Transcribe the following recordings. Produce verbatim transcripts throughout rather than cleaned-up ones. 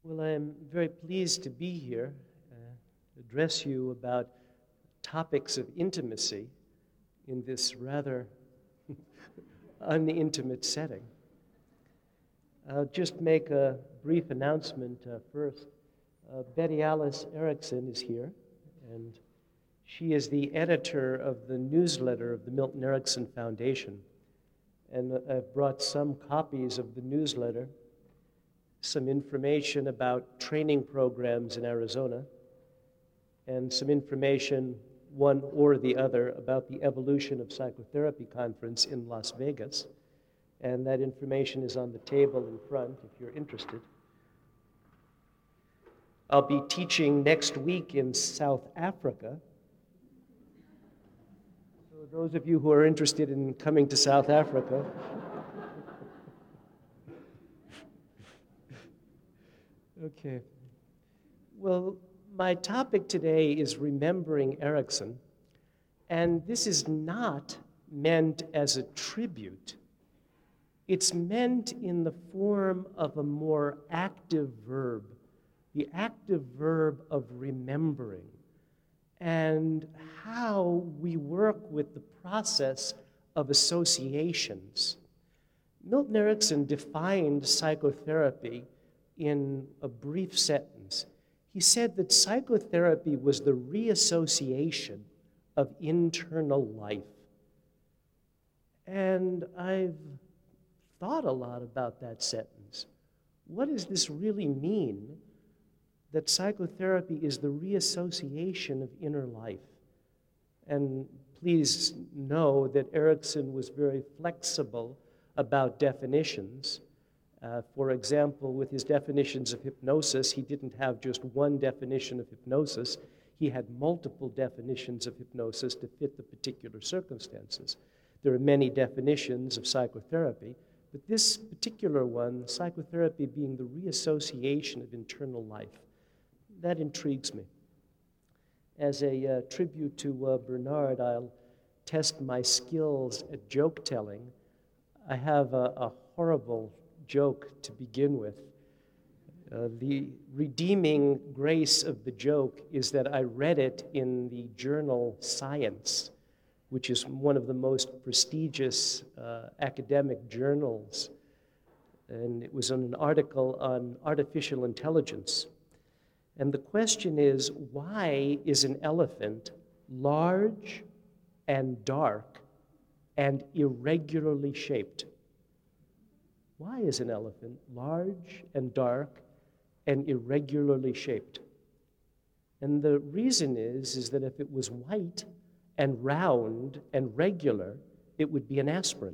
Well, I'm very pleased to be here, uh, address you about topics of intimacy in this rather unintimate setting. I'll just make a brief announcement uh, first. Uh, Betty Alice Erickson is here, and she is the editor of the newsletter of the Milton Erickson Foundation. And I've brought some copies of the newsletter, some information about training programs in Arizona, and some information, one or the other, about the Evolution of Psychotherapy Conference in Las Vegas. And that information is on the table in front if you're interested. I'll be teaching next week in South Africa. So those of you who are interested in coming to South Africa, okay. Well, my topic today is remembering Erickson, and this is not meant as a tribute. It's meant in the form of a more active verb, the active verb of remembering, and how we work with the process of associations. Milton Erickson defined psychotherapy in a brief sentence. He said that psychotherapy was the reassociation of internal life. And I've thought a lot about that sentence. What does this really mean, that psychotherapy is the reassociation of inner life? And please know that Erickson was very flexible about definitions. Uh, for example, with his definitions of hypnosis, he didn't have just one definition of hypnosis. He had multiple definitions of hypnosis to fit the particular circumstances. There are many definitions of psychotherapy, but this particular one, psychotherapy being the reassociation of internal life, that intrigues me. As a uh, tribute to uh, Bernard, I'll test my skills at joke telling. I have a, a horrible joke to begin with. Uh, the redeeming grace of the joke is that I read it in the journal Science, which is one of the most prestigious uh, academic journals. And it was on an article on artificial intelligence. And the question is, why is an elephant large and dark and irregularly shaped? Why is an elephant large and dark and irregularly shaped? And the reason is, is that if it was white and round and regular, it would be an aspirin.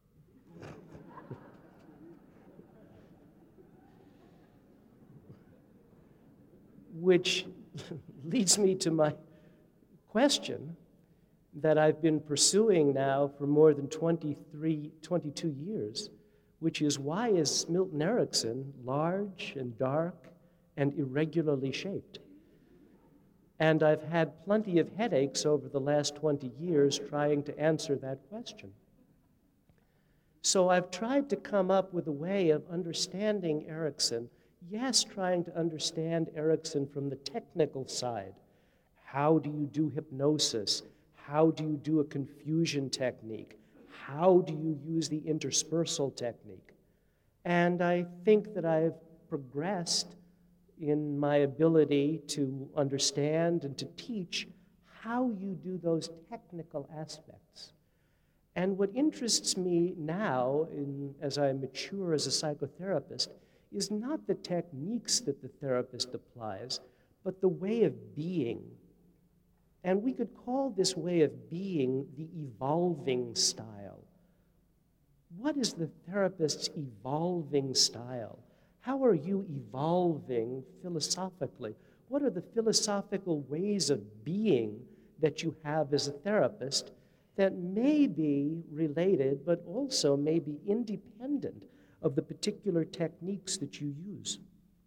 Which leads me to my question that I've been pursuing now for more than twenty-three, twenty-two years, which is, why is Milton Erickson large and dark and irregularly shaped? And I've had plenty of headaches over the last twenty years trying to answer that question. So I've tried to come up with a way of understanding Erickson. Yes, trying to understand Erickson from the technical side. How do you do hypnosis? How do you do a confusion technique? How do you use the interspersal technique? And I think that I've progressed in my ability to understand and to teach how you do those technical aspects. And what interests me now, in, as I mature as a psychotherapist, is not the techniques that the therapist applies, but the way of being. And we could call this way of being the evolving style. What is the therapist's evolving style? How are you evolving philosophically? What are the philosophical ways of being that you have as a therapist that may be related, but also may be independent of the particular techniques that you use?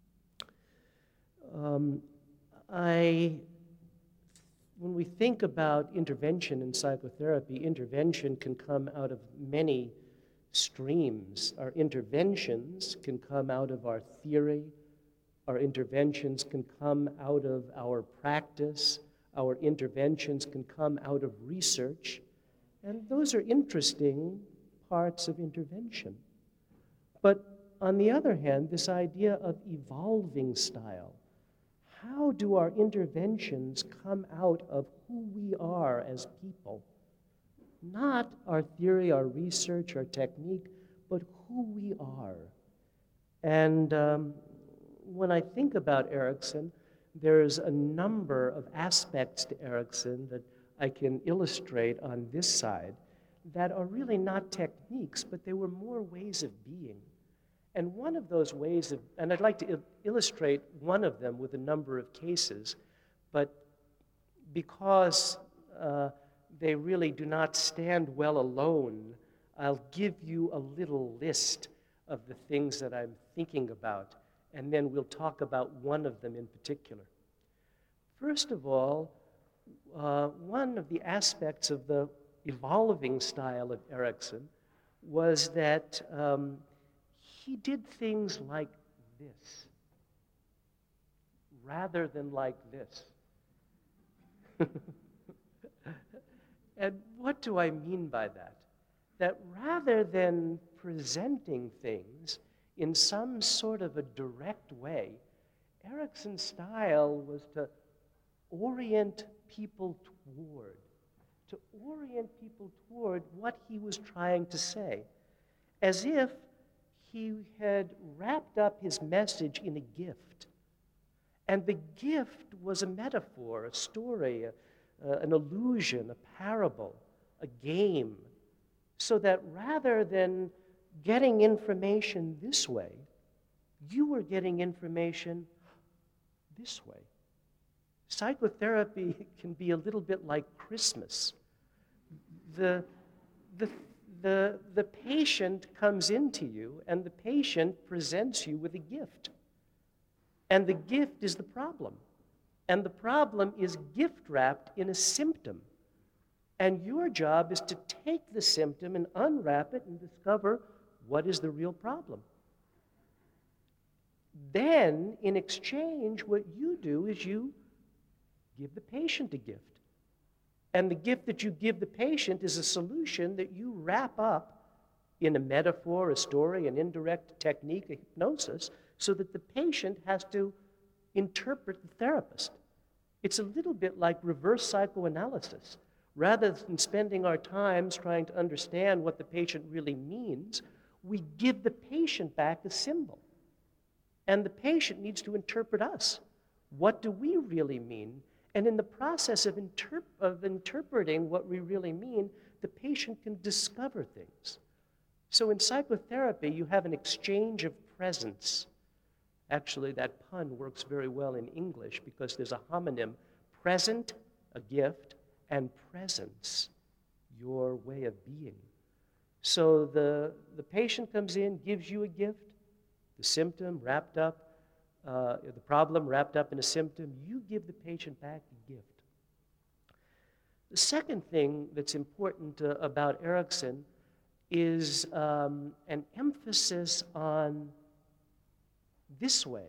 Um, I, when we think about intervention in psychotherapy, intervention can come out of many streams. Our interventions can come out of our theory, Our interventions can come out of our practice. Our interventions can come out of research. And those are interesting parts of intervention. But on the other hand, this idea of evolving style, how do our interventions come out of who we are as people? Not our theory, our research, our technique, but who we are. And um, when I think about Erickson, there's a number of aspects to Erickson that I can illustrate on this side that are really not techniques, but they were more ways of being. And one of those ways of, and I'd like to il- illustrate one of them with a number of cases, but because uh, they really do not stand well alone, I'll give you a little list of the things that I'm thinking about, and then we'll talk about one of them in particular. First of all, uh, one of the aspects of the evolving style of Erickson was that um, he did things like this rather than like this. And what do I mean by that? That rather than presenting things in some sort of a direct way, Erickson's style was to orient people toward, to orient people toward what he was trying to say, as if he had wrapped up his message in a gift. And the gift was a metaphor, a story, a, uh, an illusion, a parable, a game, so that rather than getting information this way, you were getting information this way. Psychotherapy can be a little bit like Christmas. The, the, the, the patient comes into you, and the patient presents you with a gift. And the gift is the problem. And the problem is gift-wrapped in a symptom. And your job is to take the symptom and unwrap it and discover what is the real problem. Then, in exchange, what you do is you give the patient a gift. And the gift that you give the patient is a solution that you wrap up in a metaphor, a story, an indirect technique, a hypnosis, so that the patient has to interpret the therapist. It's a little bit like reverse psychoanalysis. Rather than spending our times trying to understand what the patient really means, we give the patient back a symbol. And the patient needs to interpret us. What do we really mean? And in the process of, interp- of interpreting what we really mean, the patient can discover things. So in psychotherapy, you have an exchange of presence. Actually, that pun works very well in English because there's a homonym, present, a gift, and presence, your way of being. So the, the patient comes in, gives you a gift, the symptom wrapped up, uh, the problem wrapped up in a symptom, you give the patient back the gift. The second thing that's important uh, about Erickson is um, an emphasis on this way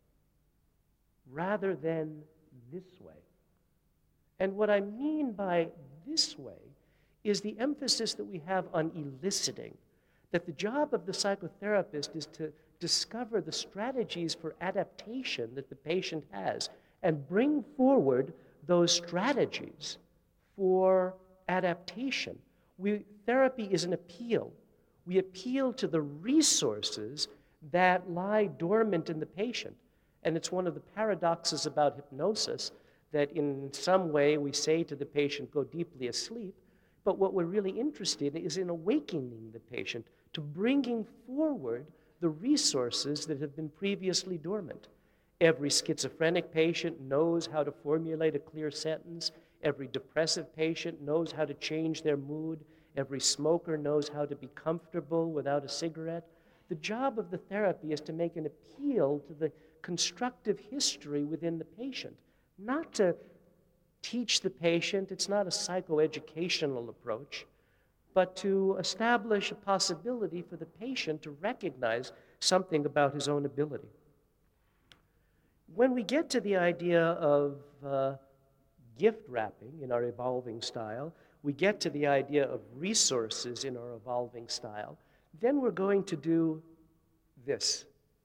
rather than this way. And what I mean by this way is the emphasis that we have on eliciting, that the job of the psychotherapist is to discover the strategies for adaptation that the patient has and bring forward those strategies for adaptation. We, therapy is an appeal. We appeal to the resources that lie dormant in the patient. And it's one of the paradoxes about hypnosis that in some way we say to the patient, go deeply asleep, but what we're really interested in is in awakening the patient to bringing forward the resources that have been previously dormant. Every schizophrenic patient knows how to formulate a clear sentence. Every depressive patient knows how to change their mood. Every smoker knows how to be comfortable without a cigarette. The job of the therapy is to make an appeal to the constructive history within the patient, not to teach the patient. It's not a psychoeducational approach, but to establish a possibility for the patient to recognize something about his own ability. When we get to the idea of uh, gift wrapping in our evolving style, we get to the idea of resources in our evolving style, then we're going to do this.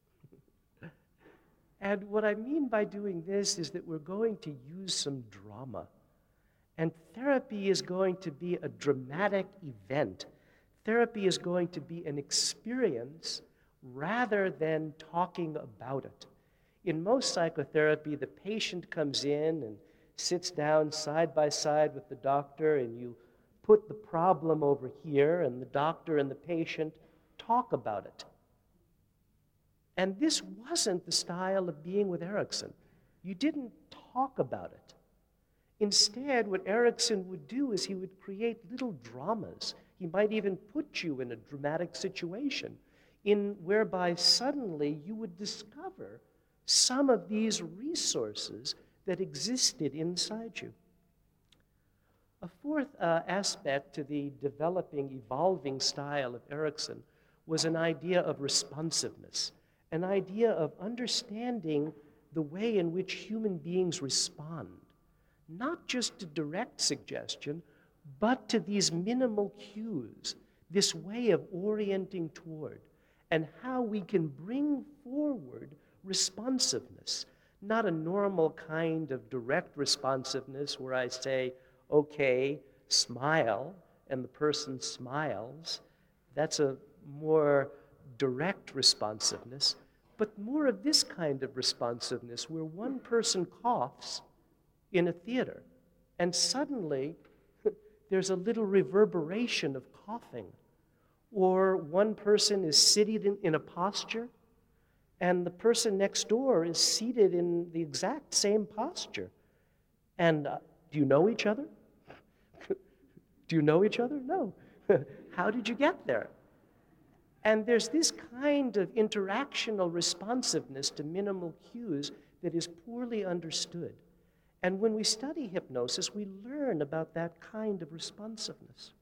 And what I mean by doing this is that we're going to use some drama. And therapy is going to be a dramatic event. Therapy is going to be an experience rather than talking about it. In most psychotherapy, the patient comes in and sits down side by side with the doctor, and you put the problem over here, and the doctor and the patient talk about it. And this wasn't the style of being with Erikson. You didn't talk about it. Instead, what Erikson would do is he would create little dramas. He might even put you in a dramatic situation in whereby suddenly you would discover some of these resources that existed inside you. A fourth uh, aspect to the developing, evolving style of Erikson was an idea of responsiveness, an idea of understanding the way in which human beings respond, not just to direct suggestion, but to these minimal cues, this way of orienting toward, and how we can bring forward responsiveness, not a normal kind of direct responsiveness where I say, okay, smile, and the person smiles. That's a more direct responsiveness, but more of this kind of responsiveness where one person coughs in a theater, and suddenly there's a little reverberation of coughing. Or one person is seated in, in a posture, and the person next door is seated in the exact same posture. And uh, do you know each other? Do you know each other? No. How did you get there? And there's this kind of interactional responsiveness to minimal cues that is poorly understood. And when we study hypnosis, we learn about that kind of responsiveness.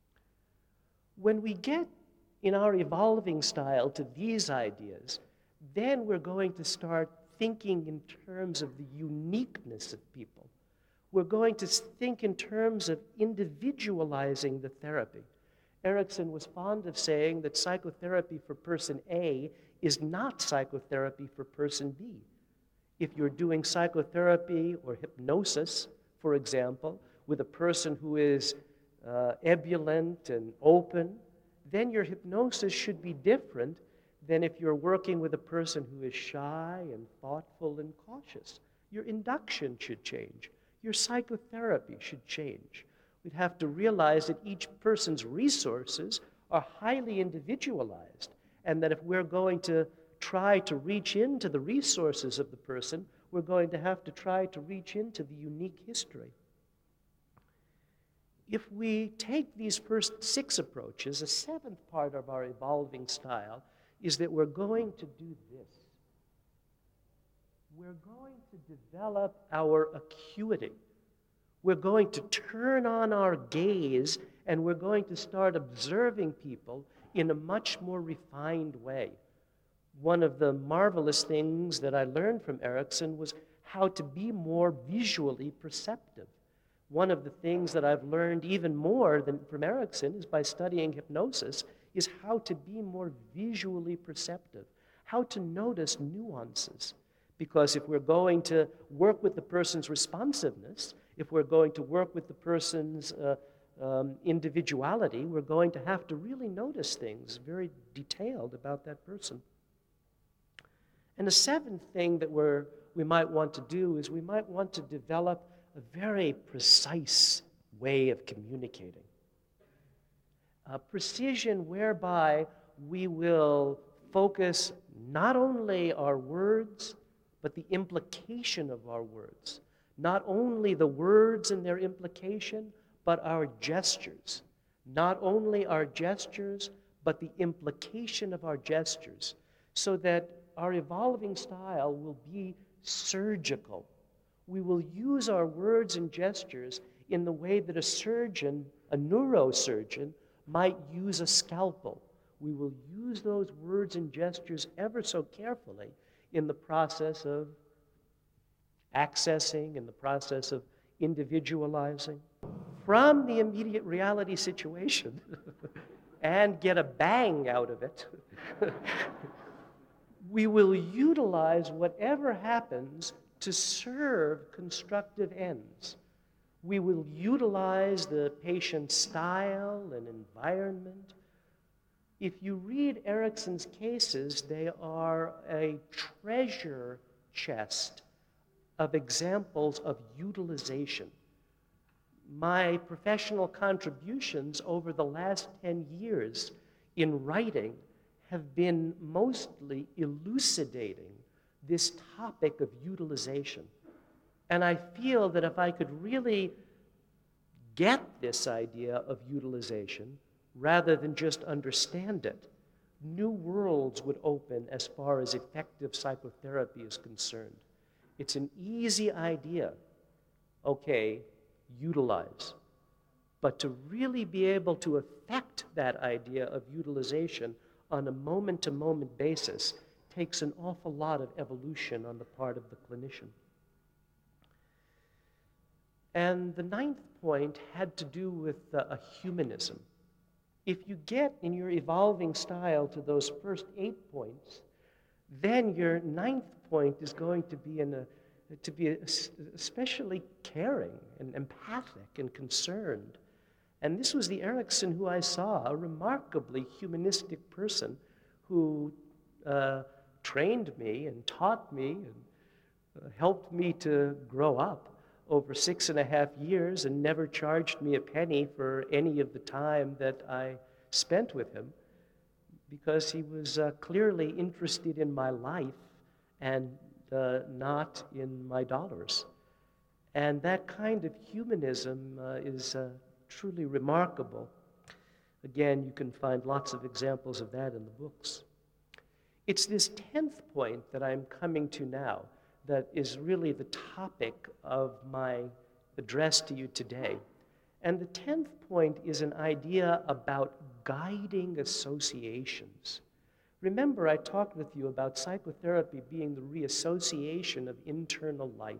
When we get in our evolving style to these ideas, then we're going to start thinking in terms of the uniqueness of people. We're going to think in terms of individualizing the therapy. Erikson was fond of saying that psychotherapy for person A is not psychotherapy for person B. If you're doing psychotherapy or hypnosis, for example, with a person who is uh, ebullient and open, then your hypnosis should be different than if you're working with a person who is shy and thoughtful and cautious. Your induction should change. Your psychotherapy should change. We'd have to realize that each person's resources are highly individualized, and that if we're going to try to reach into the resources of the person, we're going to have to try to reach into the unique history. If we take these first six approaches, a seventh part of our evolving style is that we're going to do this. We're going to develop our acuity. We're going to turn on our gaze, and we're going to start observing people in a much more refined way. One of the marvelous things that I learned from Erikson was how to be more visually perceptive. One of the things that I've learned even more than from Erikson is by studying hypnosis is how to be more visually perceptive, how to notice nuances. Because if we're going to work with the person's responsiveness, if we're going to work with the person's uh, um, individuality, we're going to have to really notice things very detailed about that person. And the seventh thing that we're, we might want to do is we might want to develop a very precise way of communicating. A precision whereby we will focus not only our words, but the implication of our words. Not only the words and their implication, but our gestures. Not only our gestures, but the implication of our gestures, so that our evolving style will be surgical. We will use our words and gestures in the way that a surgeon, a neurosurgeon, might use a scalpel. We will use those words and gestures ever so carefully in the process of accessing, in the process of individualizing from the immediate reality situation and get a bang out of it. We will utilize whatever happens to serve constructive ends. We will utilize the patient's style and environment. If you read Erikson's cases, they are a treasure chest of examples of utilization. My professional contributions over the last ten years in writing have been mostly elucidating this topic of utilization. And I feel that if I could really get this idea of utilization, rather than just understand it, new worlds would open as far as effective psychotherapy is concerned. It's an easy idea. Okay, utilize. But to really be able to affect that idea of utilization on a moment-to-moment basis takes an awful lot of evolution on the part of the clinician. And the ninth point had to do with uh, a humanism. If you get in your evolving style to those first eight points, then your ninth point is going to be in a to be especially caring and empathic and concerned. And this was the Erikson who I saw, a remarkably humanistic person who uh, trained me and taught me and uh, helped me to grow up over six and a half years and never charged me a penny for any of the time that I spent with him, because he was uh, clearly interested in my life and uh, not in my dollars. And that kind of humanism uh, is uh, truly remarkable. Again, you can find lots of examples of that in the books. It's this tenth point that I'm coming to now that is really the topic of my address to you today. And the tenth point is an idea about guiding associations. Remember, I talked with you about psychotherapy being the reassociation of internal life.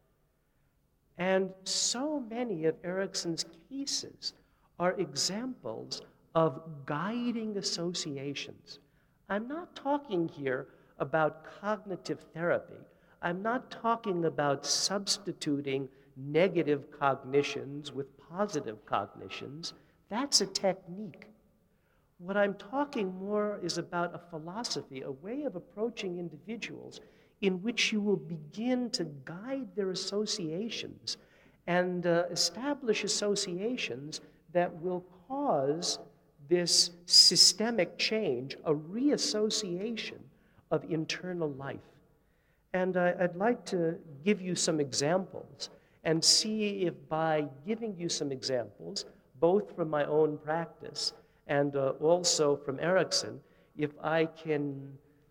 And so many of Erikson's cases are examples of guiding associations. I'm not talking here about cognitive therapy. I'm not talking about substituting negative cognitions with positive cognitions. That's a technique. What I'm talking more is about a philosophy, a way of approaching individuals in which you will begin to guide their associations and uh, establish associations that will cause this systemic change, a reassociation of internal life. And I, I'd like to give you some examples and see if by giving you some examples, both from my own practice and uh, also from Erikson, if I can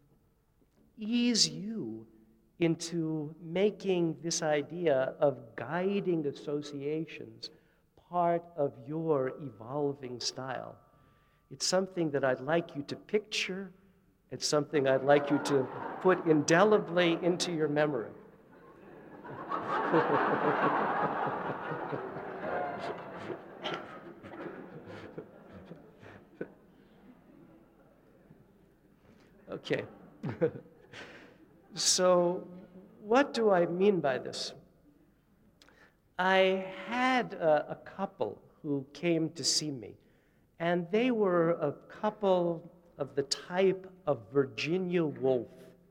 ease you into making this idea of guiding associations part of your evolving style. It's something that I'd like you to picture. It's something I'd like you to put indelibly into your memory. Okay. So, what do I mean by this? I had a, a couple who came to see me, and they were a couple of the type of Virginia Woolf.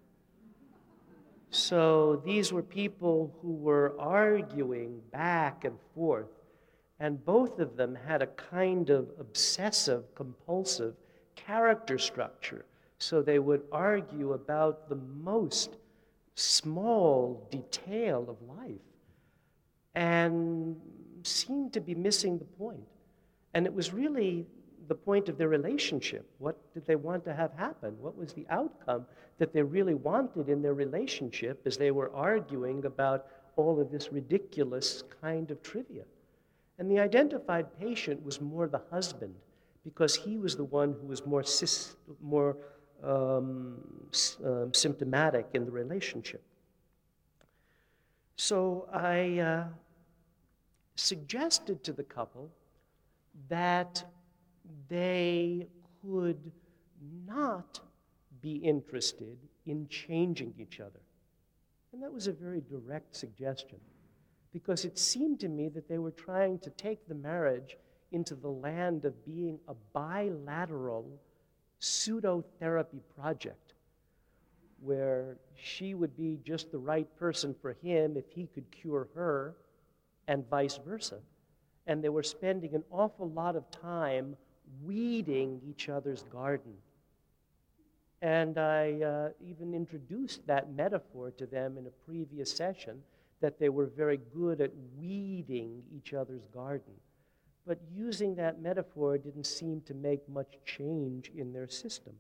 So these were people who were arguing back and forth, and both of them had a kind of obsessive, compulsive character structure. So they would argue about the most small detail of life and seemed to be missing the point. And it was really the point of their relationship. What did they want to have happen? What was the outcome that they really wanted in their relationship as they were arguing about all of this ridiculous kind of trivia? And the identified patient was more the husband, because he was the one who was more, sis- more um, s- um, symptomatic in the relationship. So I uh, suggested to the couple that they could not be interested in changing each other. And that was a very direct suggestion, because it seemed to me that they were trying to take the marriage into the land of being a bilateral pseudo-therapy project, where she would be just the right person for him if he could cure her, and vice versa. And they were spending an awful lot of time weeding each other's garden. And I uh, even introduced that metaphor to them in a previous session, that they were very good at weeding each other's garden. But using that metaphor didn't seem to make much change in their system.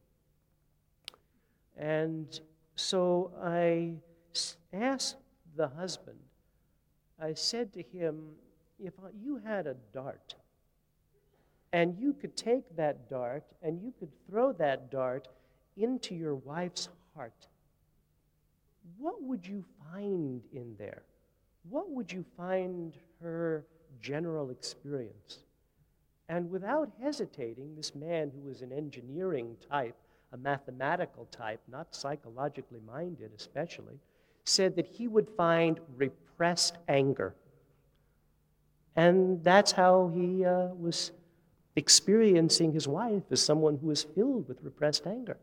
And so I asked the husband, I said to him, if you had a dart, and you could take that dart and you could throw that dart into your wife's heart, what would you find in there? What would you find her general experience? And without hesitating, this man, who was an engineering type, a mathematical type, not psychologically minded especially, said that he would find repressed anger. And that's how he uh, was experiencing his wife, as someone who was filled with repressed anger.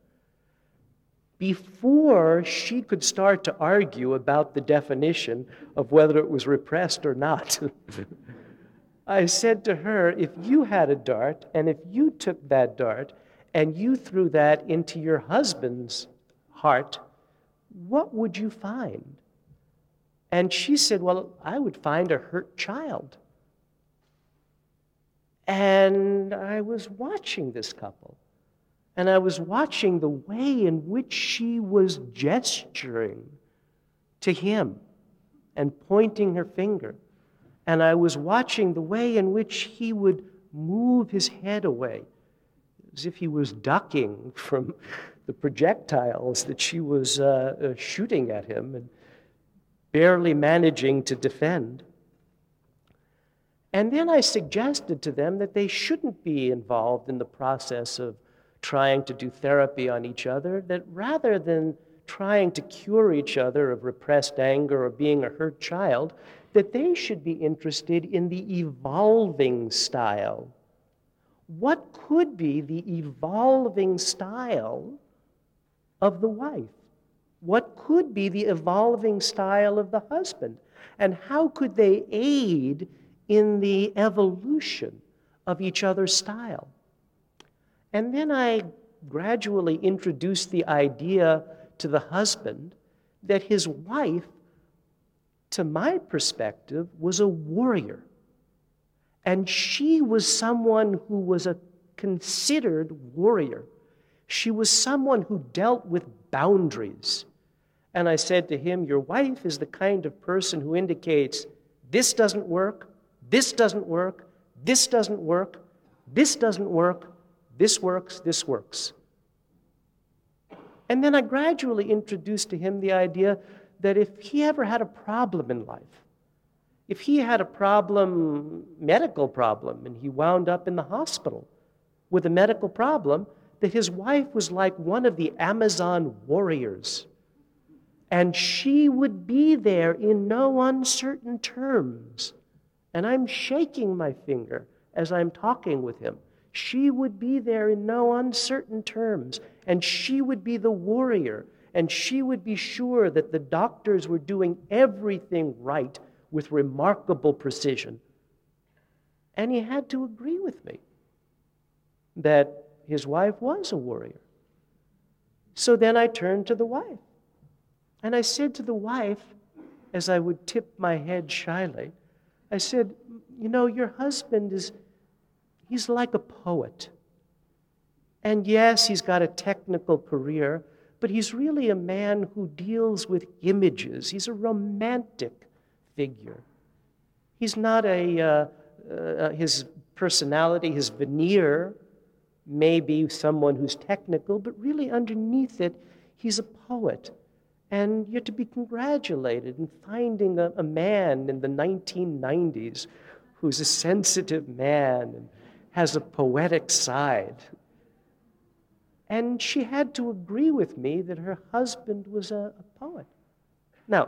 Before she could start to argue about the definition of whether it was repressed or not, I said to her, if you had a dart, and if you took that dart, and you threw that into your husband's heart, what would you find? And she said, well, I would find a hurt child. And I was watching this couple, and I was watching the way in which she was gesturing to him and pointing her finger. And I was watching the way in which he would move his head away, as if he was ducking from the projectiles that she was uh, uh, shooting at him and barely managing to defend. And then I suggested to them that they shouldn't be involved in the process of trying to do therapy on each other, that rather than trying to cure each other of repressed anger or being a hurt child, that they should be interested in the evolving style. What could be the evolving style of the wife? What could be the evolving style of the husband? And how could they aid in the evolution of each other's style? And then I gradually introduced the idea to the husband that his wife, to my perspective, was a warrior. And she was someone who was a considered warrior. She was someone who dealt with boundaries. And I said to him, your wife is the kind of person who indicates, this doesn't work, this doesn't work, this doesn't work, this doesn't work, this works, this works. And then I gradually introduced to him the idea that if he ever had a problem in life, if he had a problem, medical problem, and he wound up in the hospital with a medical problem, that his wife was like one of the Amazon warriors. And she would be there in no uncertain terms. And I'm shaking my finger as I'm talking with him. She would be there in no uncertain terms, and she would be the warrior, and she would be sure that the doctors were doing everything right with remarkable precision. And he had to agree with me that his wife was a warrior. So then I turned to the wife, and I said to the wife, as I would tip my head shyly, I said, you know, your husband is, he's like a poet. And yes, he's got a technical career, but he's really a man who deals with images. He's a romantic figure. He's not a, uh, uh, his personality, his veneer may be someone who's technical, but really underneath it, he's a poet. And you're to be congratulated in finding a, a man in the nineteen nineties who's a sensitive man and has a poetic side. And she had to agree with me that her husband was a, a poet. Now,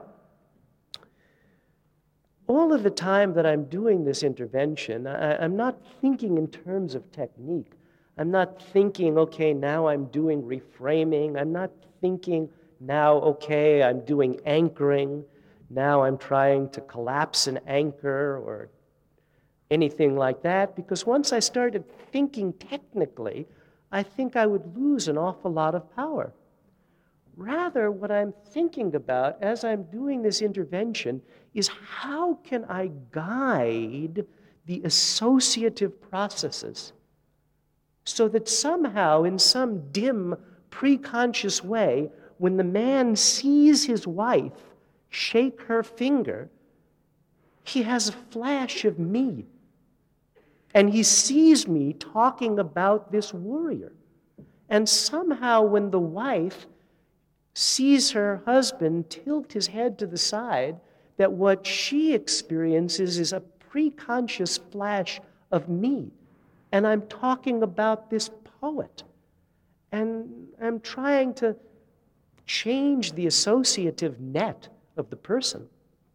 all of the time that I'm doing this intervention, I, I'm not thinking in terms of technique. I'm not thinking, okay, now I'm doing reframing. I'm not thinking, now, okay, I'm doing anchoring. Now I'm trying to collapse an anchor or anything like that, because once I started thinking technically, I think I would lose an awful lot of power. Rather, what I'm thinking about as I'm doing this intervention is how can I guide the associative processes so that somehow, in some dim, preconscious way, when the man sees his wife shake her finger, he has a flash of me. And he sees me talking about this warrior. And somehow when the wife sees her husband tilt his head to the side, that what she experiences is a preconscious flash of me. And I'm talking about this poet. And I'm trying to change the associative net of the person.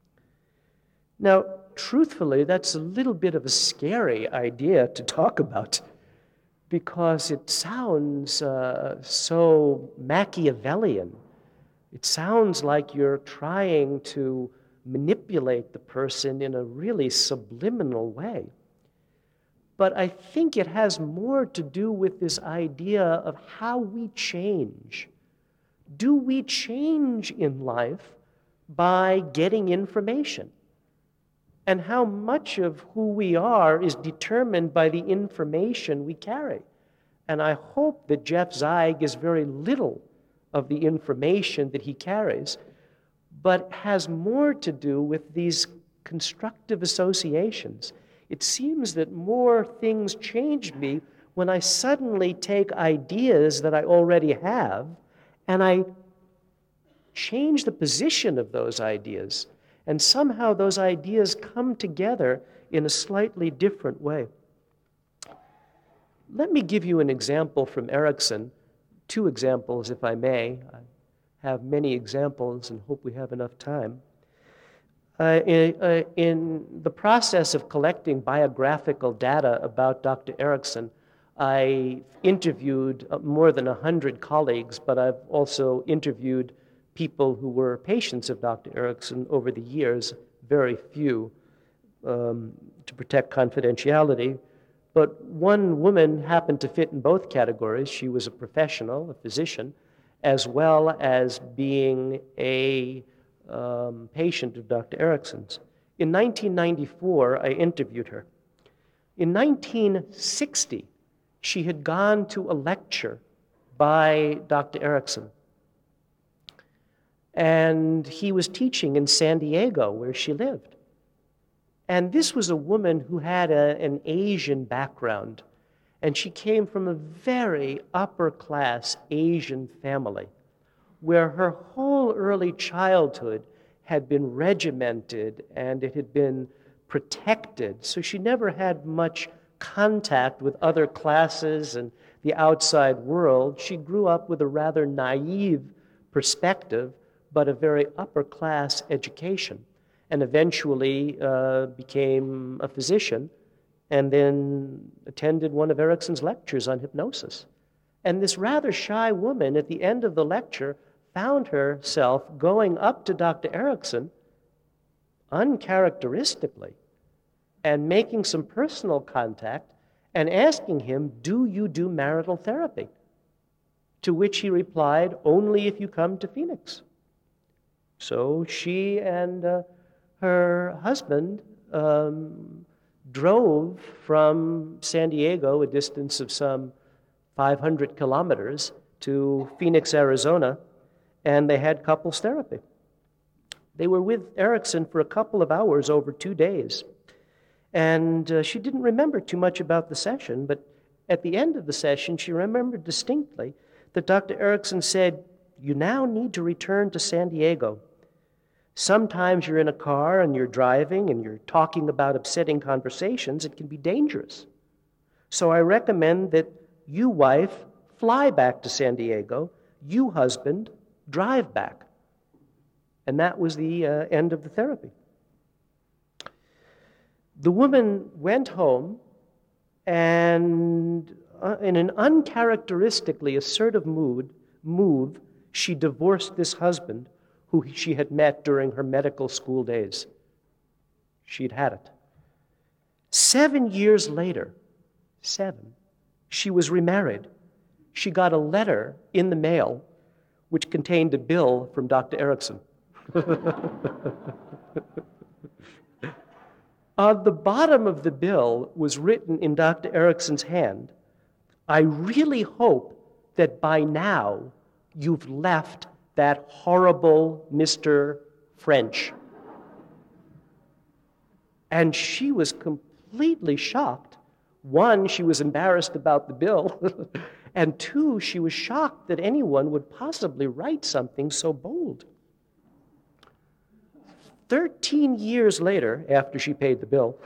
Now, truthfully, that's a little bit of a scary idea to talk about because it sounds uh, so Machiavellian. It sounds like you're trying to manipulate the person in a really subliminal way. But I think it has more to do with this idea of how we change. Do we change in life by getting information? And how much of who we are is determined by the information we carry. And I hope that Jeff Zeig is very little of the information that he carries, but has more to do with these constructive associations. It seems that more things change me when I suddenly take ideas that I already have and I change the position of those ideas. And somehow those ideas come together in a slightly different way. Let me give you an example from Erikson, two examples, if I may. I have many examples and hope we have enough time. Uh, in, uh, in the process of collecting biographical data about Doctor Erikson, I interviewed more than one hundred colleagues, but I've also interviewed people who were patients of Doctor Erikson over the years, very few, um, to protect confidentiality. But one woman happened to fit in both categories. She was a professional, a physician, as well as being a um, patient of Doctor Erikson's. In nineteen ninety-four, I interviewed her. In nineteen sixty, she had gone to a lecture by Doctor Erikson. And he was teaching in San Diego, where she lived. And this was a woman who had a, an Asian background, and she came from a very upper-class Asian family, where her whole early childhood had been regimented and it had been protected, so she never had much contact with other classes and the outside world. She grew up with a rather naive perspective, but a very upper-class education, and eventually uh, became a physician, and then attended one of Erikson's lectures on hypnosis. And this rather shy woman, at the end of the lecture, found herself going up to Doctor Erikson uncharacteristically and making some personal contact and asking him, "Do you do marital therapy?" To which he replied, "Only if you come to Phoenix." So she and uh, her husband um, drove from San Diego, a distance of some five hundred kilometers, to Phoenix, Arizona, and they had couples therapy. They were with Erikson for a couple of hours over two days. And uh, she didn't remember too much about the session, but at the end of the session, she remembered distinctly that Doctor Erikson said, you now need to return to San Diego. Sometimes you're in a car and you're driving and you're talking about upsetting conversations. It can be dangerous. So I recommend that you, wife, fly back to San Diego. You, husband, drive back. And that was the uh, end of the therapy. The woman went home and uh, in an uncharacteristically assertive mood, move, she divorced this husband who she had met during her medical school days. She'd had it. Seven years later, seven, she was remarried. She got a letter in the mail which contained a bill from Doctor Erickson. On the bottom of the bill was written in Doctor Erickson's hand, "I really hope that by now you've left that horrible Mister French." And she was completely shocked. One, she was embarrassed about the bill. And two, she was shocked that anyone would possibly write something so bold. Thirteen years later, after she paid the bill,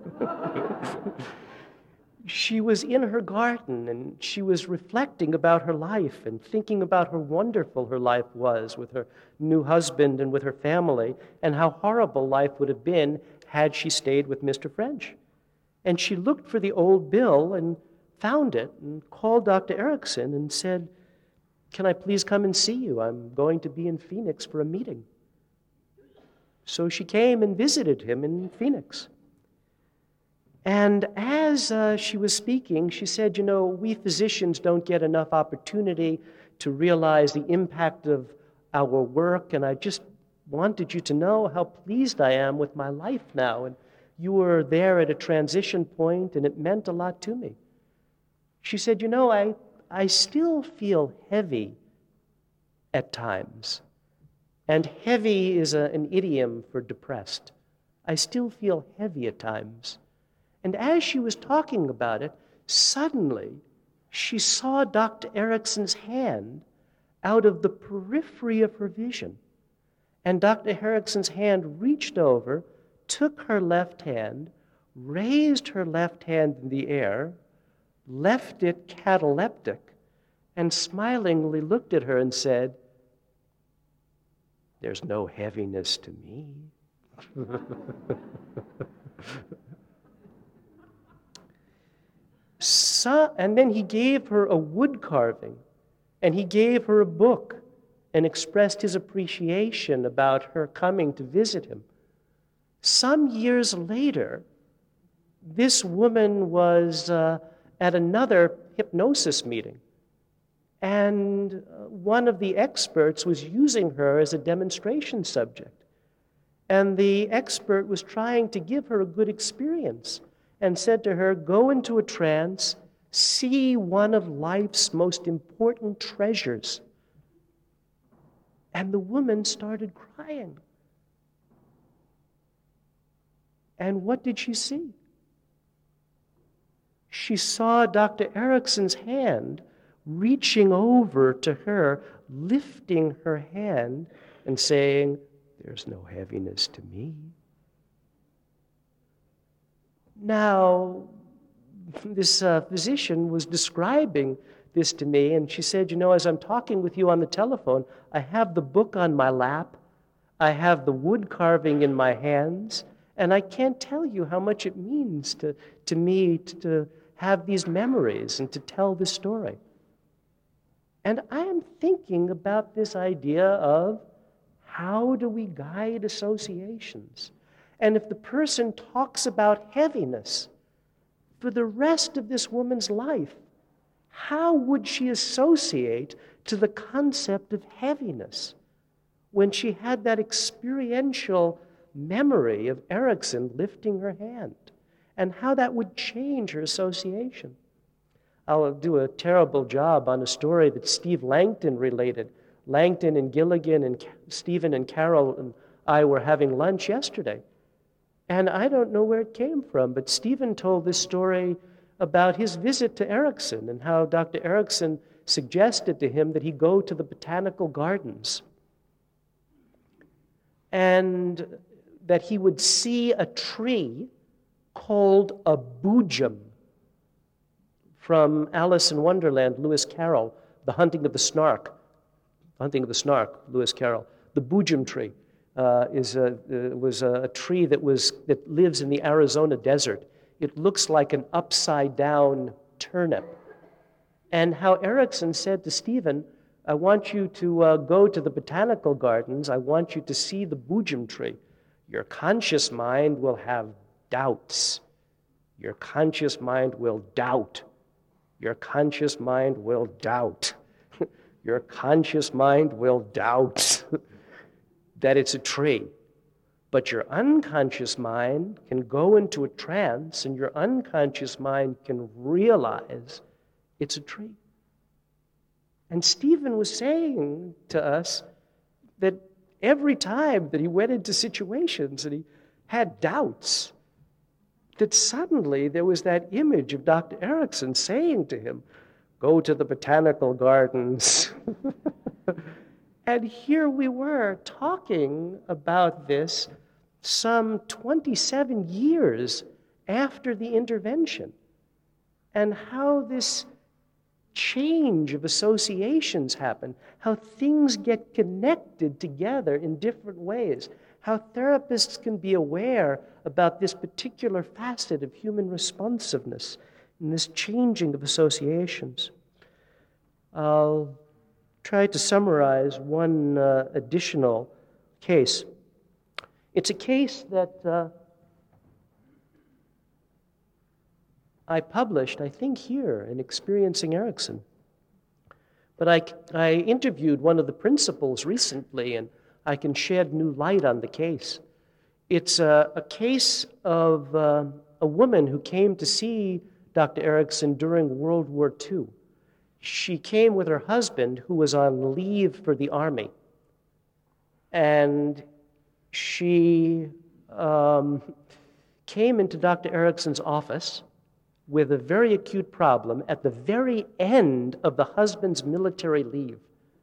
she was in her garden and she was reflecting about her life and thinking about how wonderful her life was with her new husband and with her family, and how horrible life would have been had she stayed with Mister French. And she looked for the old bill and found it and called Doctor Erickson and said, "Can I please come and see you? I'm going to be in Phoenix for a meeting." So she came and visited him in Phoenix. And as uh, she was speaking, she said, "You know, we physicians don't get enough opportunity to realize the impact of our work, and I just wanted you to know how pleased I am with my life now. And you were there at a transition point, and it meant a lot to me." She said, "You know, I, I still feel heavy at times. And heavy is a, an idiom for depressed. I still feel heavy at times." And as she was talking about it, suddenly she saw Doctor Erickson's hand out of the periphery of her vision. And Doctor Erickson's hand reached over, took her left hand, raised her left hand in the air, left it cataleptic, and smilingly looked at her and said, "There's no heaviness to me." So, and then he gave her a wood carving, and he gave her a book and expressed his appreciation about her coming to visit him. Some years later, this woman was uh, at another hypnosis meeting, and one of the experts was using her as a demonstration subject. And the expert was trying to give her a good experience and said to her, "Go into a trance, see one of life's most important treasures." And the woman started crying. And what did she see? She saw Doctor Erickson's hand reaching over to her, lifting her hand and saying, "There's no heaviness to me." Now, this uh, physician was describing this to me, and she said, "You know, as I'm talking with you on the telephone, I have the book on my lap, I have the wood carving in my hands, and I can't tell you how much it means to, to me to, to have these memories and to tell this story." And I am thinking about this idea of how do we guide associations? And if the person talks about heaviness for the rest of this woman's life, how would she associate to the concept of heaviness when she had that experiential memory of Erickson lifting her hand, and how that would change her association? I'll do a terrible job on a story that Steve Langton related. Langton and Gilligan and Stephen and Carol and I were having lunch yesterday. And I don't know where it came from, but Stephen told this story about his visit to Erickson and how Doctor Erickson suggested to him that he go to the botanical gardens and that he would see a tree called a boojum, from Alice in Wonderland, Lewis Carroll, The Hunting of the Snark. The Hunting of the Snark, Lewis Carroll. The boojum tree uh, is a, uh, was a tree that, was, that lives in the Arizona desert. It looks like an upside-down turnip. And how Erickson said to Stephen, I want you to uh, go to the botanical gardens. I want you to see the boojum tree. Your conscious mind will have doubts. Your conscious mind will doubt. Your conscious mind will doubt. Your conscious mind will doubt that it's a tree. But your unconscious mind can go into a trance, and your unconscious mind can realize it's a tree. And Stephen was saying to us that every time that he went into situations and he had doubts, that suddenly there was that image of Doctor Erickson saying to him, go to the botanical gardens. And here we were talking about this some twenty-seven years after the intervention, and how this change of associations happen, how things get connected together in different ways, how therapists can be aware about this particular facet of human responsiveness and this changing of associations. I'll try to summarize one uh, additional case. It's a case that uh, I published, I think, here in Experiencing Erickson. But I, I interviewed one of the principals recently, and I can shed new light on the case. It's a, a case of uh, a woman who came to see Doctor Erickson during World War Two. She came with her husband, who was on leave for the Army. And she um, came into Doctor Erickson's office with a very acute problem at the very end of the husband's military leave.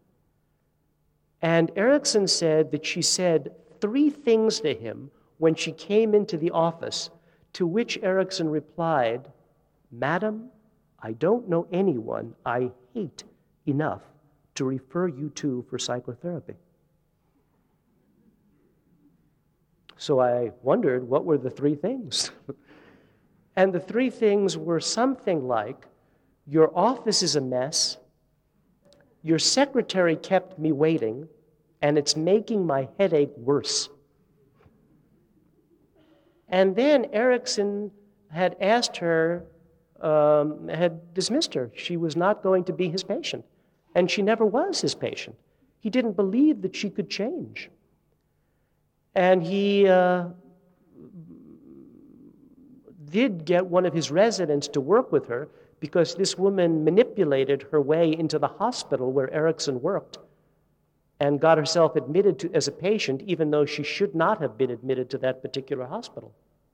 And Erickson said that she said three things to him when she came into the office, to which Erickson replied, Madam, I don't know anyone I hate enough to refer you to for psychotherapy. So I wondered, what were the three things? And the three things were something like, your office is a mess, your secretary kept me waiting, and it's making my headache worse. And then Erickson had asked her, um, had dismissed her. She was not going to be his patient, and she never was his patient. He didn't believe that she could change. And he uh, did get one of his residents to work with her, because this woman manipulated her way into the hospital where Erickson worked and got herself admitted to, as a patient, even though she should not have been admitted to that particular hospital.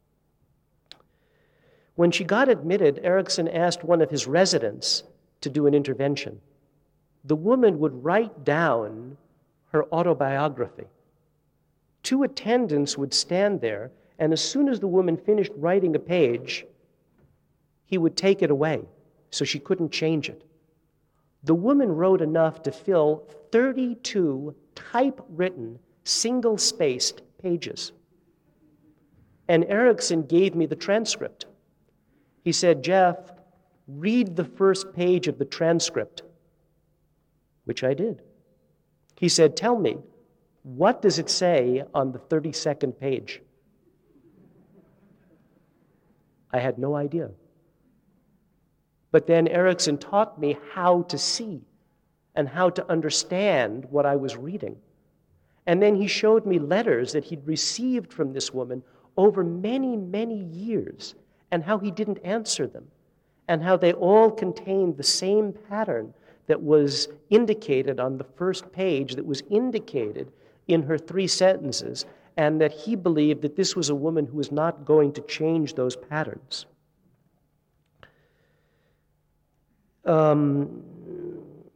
When she got admitted, Erickson asked one of his residents to do an intervention. The woman would write down her autobiography. Two attendants would stand there, and as soon as the woman finished writing a page, he would take it away, so she couldn't change it. The woman wrote enough to fill thirty-two typewritten, single-spaced pages. And Erickson gave me the transcript. He said, Jeff, read the first page of the transcript, which I did. He said, tell me, what does it say on the thirty-second page? I had no idea. But then Erickson taught me how to see and how to understand what I was reading. And then he showed me letters that he'd received from this woman over many, many years, and how he didn't answer them, and how they all contained the same pattern that was indicated on the first page, that was indicated in her three sentences, and that he believed that this was a woman who was not going to change those patterns. Um,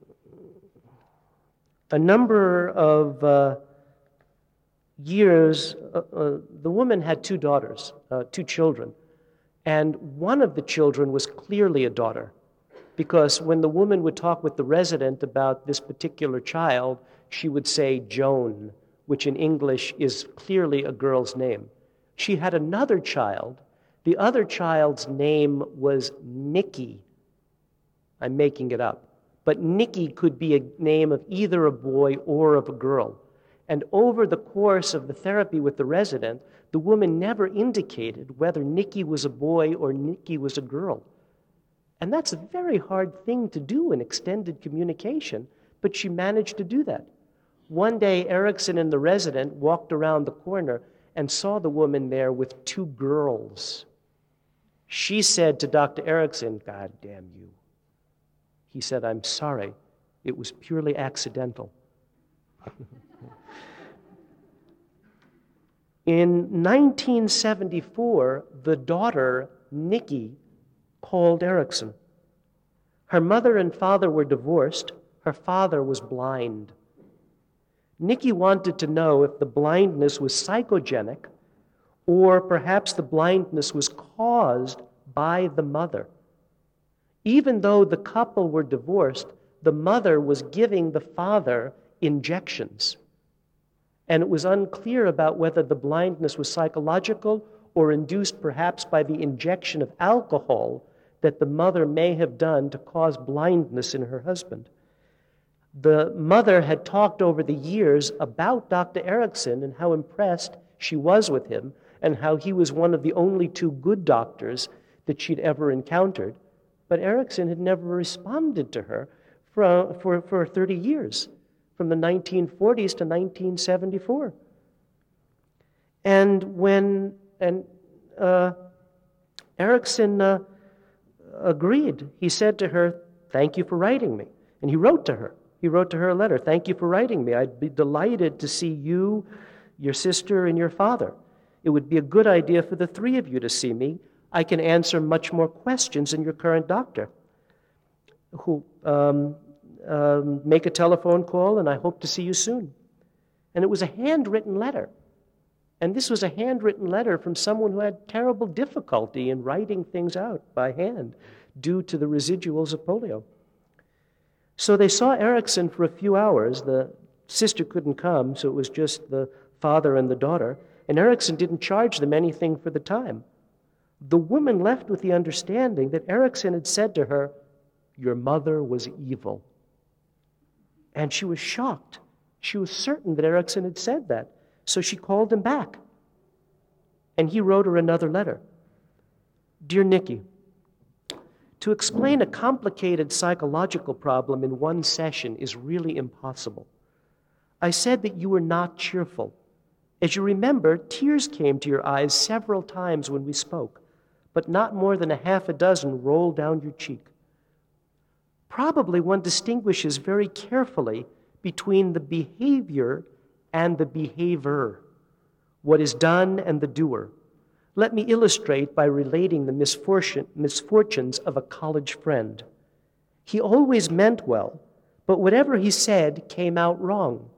A number of uh, years, uh, uh, the woman had two daughters, uh, two children, and one of the children was clearly a daughter, because when the woman would talk with the resident about this particular child, she would say Joan, which in English is clearly a girl's name. She had another child. The other child's name was Nikki. I'm making it up. But Nikki could be a name of either a boy or of a girl. And over the course of the therapy with the resident, the woman never indicated whether Nikki was a boy or Nikki was a girl. And that's a very hard thing to do in extended communication, but she managed to do that. One day, Erickson and the resident walked around the corner and saw the woman there with two girls. She said to Doctor Erickson, "God damn you." He said, "I'm sorry. It was purely accidental." In nineteen seventy-four, the daughter, Nikki, called Erickson. Her mother and father were divorced. Her father was blind. Nikki wanted to know if the blindness was psychogenic or perhaps the blindness was caused by the mother. Even though the couple were divorced, the mother was giving the father injections. And it was unclear about whether the blindness was psychological or induced perhaps by the injection of alcohol that the mother may have done to cause blindness in her husband. The mother had talked over the years about Doctor Erickson and how impressed she was with him and how he was one of the only two good doctors that she'd ever encountered. But Erickson had never responded to her for, for, for thirty years, from the nineteen forties to nineteen seventy-four. And when and uh, Erickson uh, agreed, he said to her, "Thank you for writing me." And he wrote to her. He wrote to her a letter. "Thank you for writing me. I'd be delighted to see you, your sister, and your father. It would be a good idea for the three of you to see me. I can answer much more questions than your current doctor. Who um, um, make a telephone call, and I hope to see you soon." And it was a handwritten letter. And this was a handwritten letter from someone who had terrible difficulty in writing things out by hand due to the residuals of polio. So they saw Erickson for a few hours. The sister couldn't come, so it was just the father and the daughter. And Erickson didn't charge them anything for the time. The woman left with the understanding that Erickson had said to her, "Your mother was evil." And she was shocked. She was certain that Erickson had said that. So she called him back. And he wrote her another letter. "Dear Nikki, to explain a complicated psychological problem in one session is really impossible. I said that you were not cheerful. As you remember, tears came to your eyes several times when we spoke, but not more than a half a dozen rolled down your cheek. Probably one distinguishes very carefully between the behavior and the behavior, what is done and the doer. Let me illustrate by relating the misfortune, misfortunes of a college friend. He always meant well, but whatever he said came out wrong.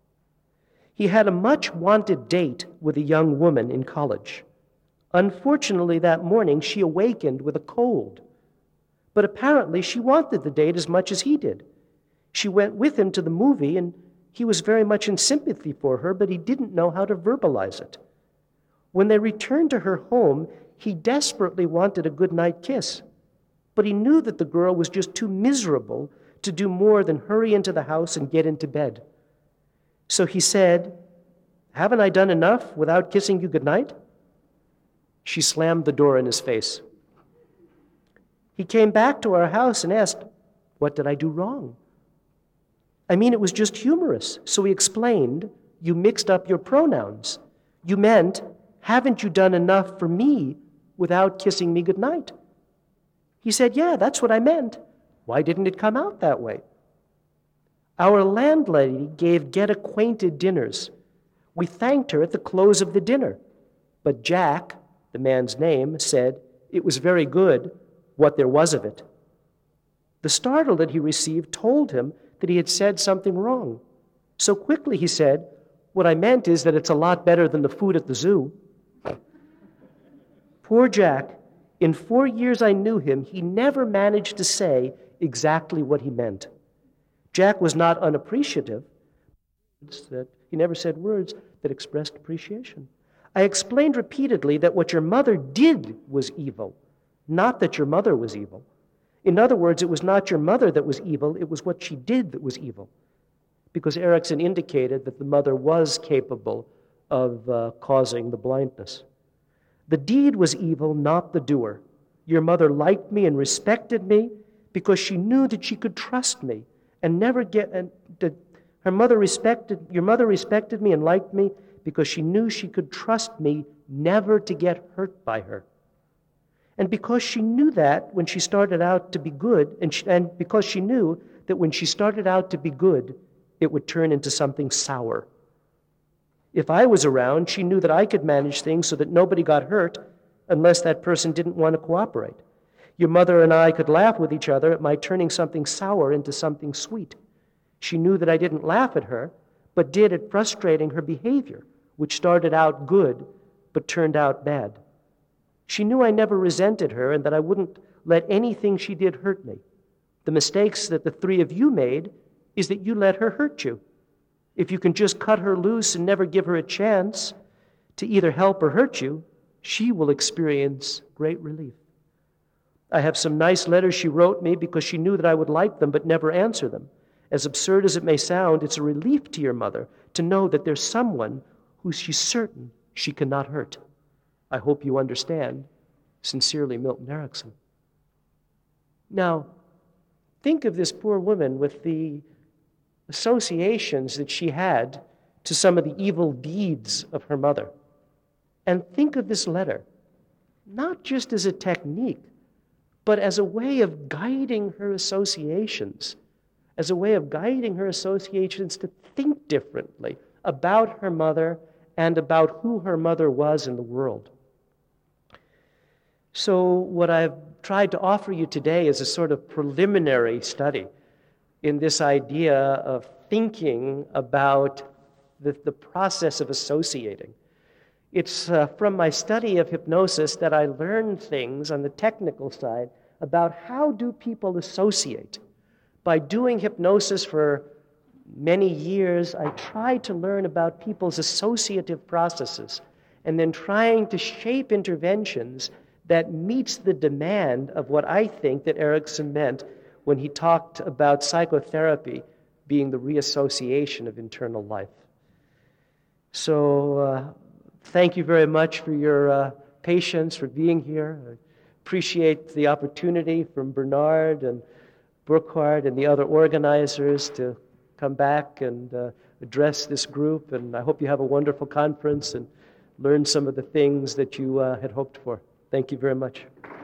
He had a much-wanted date with a young woman in college. Unfortunately, that morning, she awakened with a cold. But apparently, she wanted the date as much as he did. She went with him to the movie, and he was very much in sympathy for her, but he didn't know how to verbalize it. When they returned to her home, he desperately wanted a goodnight kiss, but he knew that the girl was just too miserable to do more than hurry into the house and get into bed. So he said, "Haven't I done enough without kissing you goodnight?" She slammed the door in his face. He came back to our house and asked, "What did I do wrong?" I mean, it was just humorous. So he explained, "You mixed up your pronouns. You meant, haven't you done enough for me without kissing me goodnight?" He said, "Yeah, that's what I meant. Why didn't it come out that way?" Our landlady gave get-acquainted dinners. We thanked her at the close of the dinner. But Jack, the man's name, said, it was very good, what there was of it. The startle that he received told him that he had said something wrong. So quickly, he said, what I meant is that it's a lot better than the food at the zoo. Poor Jack, in four years I knew him, he never managed to say exactly what he meant. Jack was not unappreciative. That he never said words that expressed appreciation. I explained repeatedly that what your mother did was evil, not that your mother was evil. In other words, it was not your mother that was evil, it was what she did that was evil. Because Erickson indicated that the mother was capable of uh, causing the blindness. The deed was evil, not the doer. Your mother liked me and respected me because she knew that she could trust me and never get, and that her mother respected, your mother respected me and liked me because she knew she could trust me never to get hurt by her. And because she knew that when she started out to be good, and, she, and because she knew that when she started out to be good, it would turn into something sour. If I was around, she knew that I could manage things so that nobody got hurt unless that person didn't want to cooperate. Your mother and I could laugh with each other at my turning something sour into something sweet. She knew that I didn't laugh at her, but did at frustrating her behavior, which started out good but turned out bad. She knew I never resented her and that I wouldn't let anything she did hurt me. The mistakes that the three of you made is that you let her hurt you. If you can just cut her loose and never give her a chance to either help or hurt you, she will experience great relief. I have some nice letters she wrote me because she knew that I would like them but never answer them. As absurd as it may sound, it's a relief to your mother to know that there's someone who she's certain she cannot hurt. I hope you understand. Sincerely, Milton Erickson. Now, think of this poor woman with the associations that she had to some of the evil deeds of her mother. And think of this letter, not just as a technique, but as a way of guiding her associations, as a way of guiding her associations to think differently about her mother and about who her mother was in the world. So what I've tried to offer you today is a sort of preliminary study in this idea of thinking about the, the process of associating. It's uh, from my study of hypnosis that I learned things on the technical side about how do people associate. By doing hypnosis for many years, I tried to learn about people's associative processes and then trying to shape interventions that meets the demand of what I think that Erickson meant when he talked about psychotherapy being the reassociation of internal life. So uh, thank you very much for your uh, patience, for being here. I appreciate the opportunity from Bernard and Burkhard and the other organizers to come back and uh, address this group, and I hope you have a wonderful conference and learn some of the things that you uh, had hoped for. Thank you very much.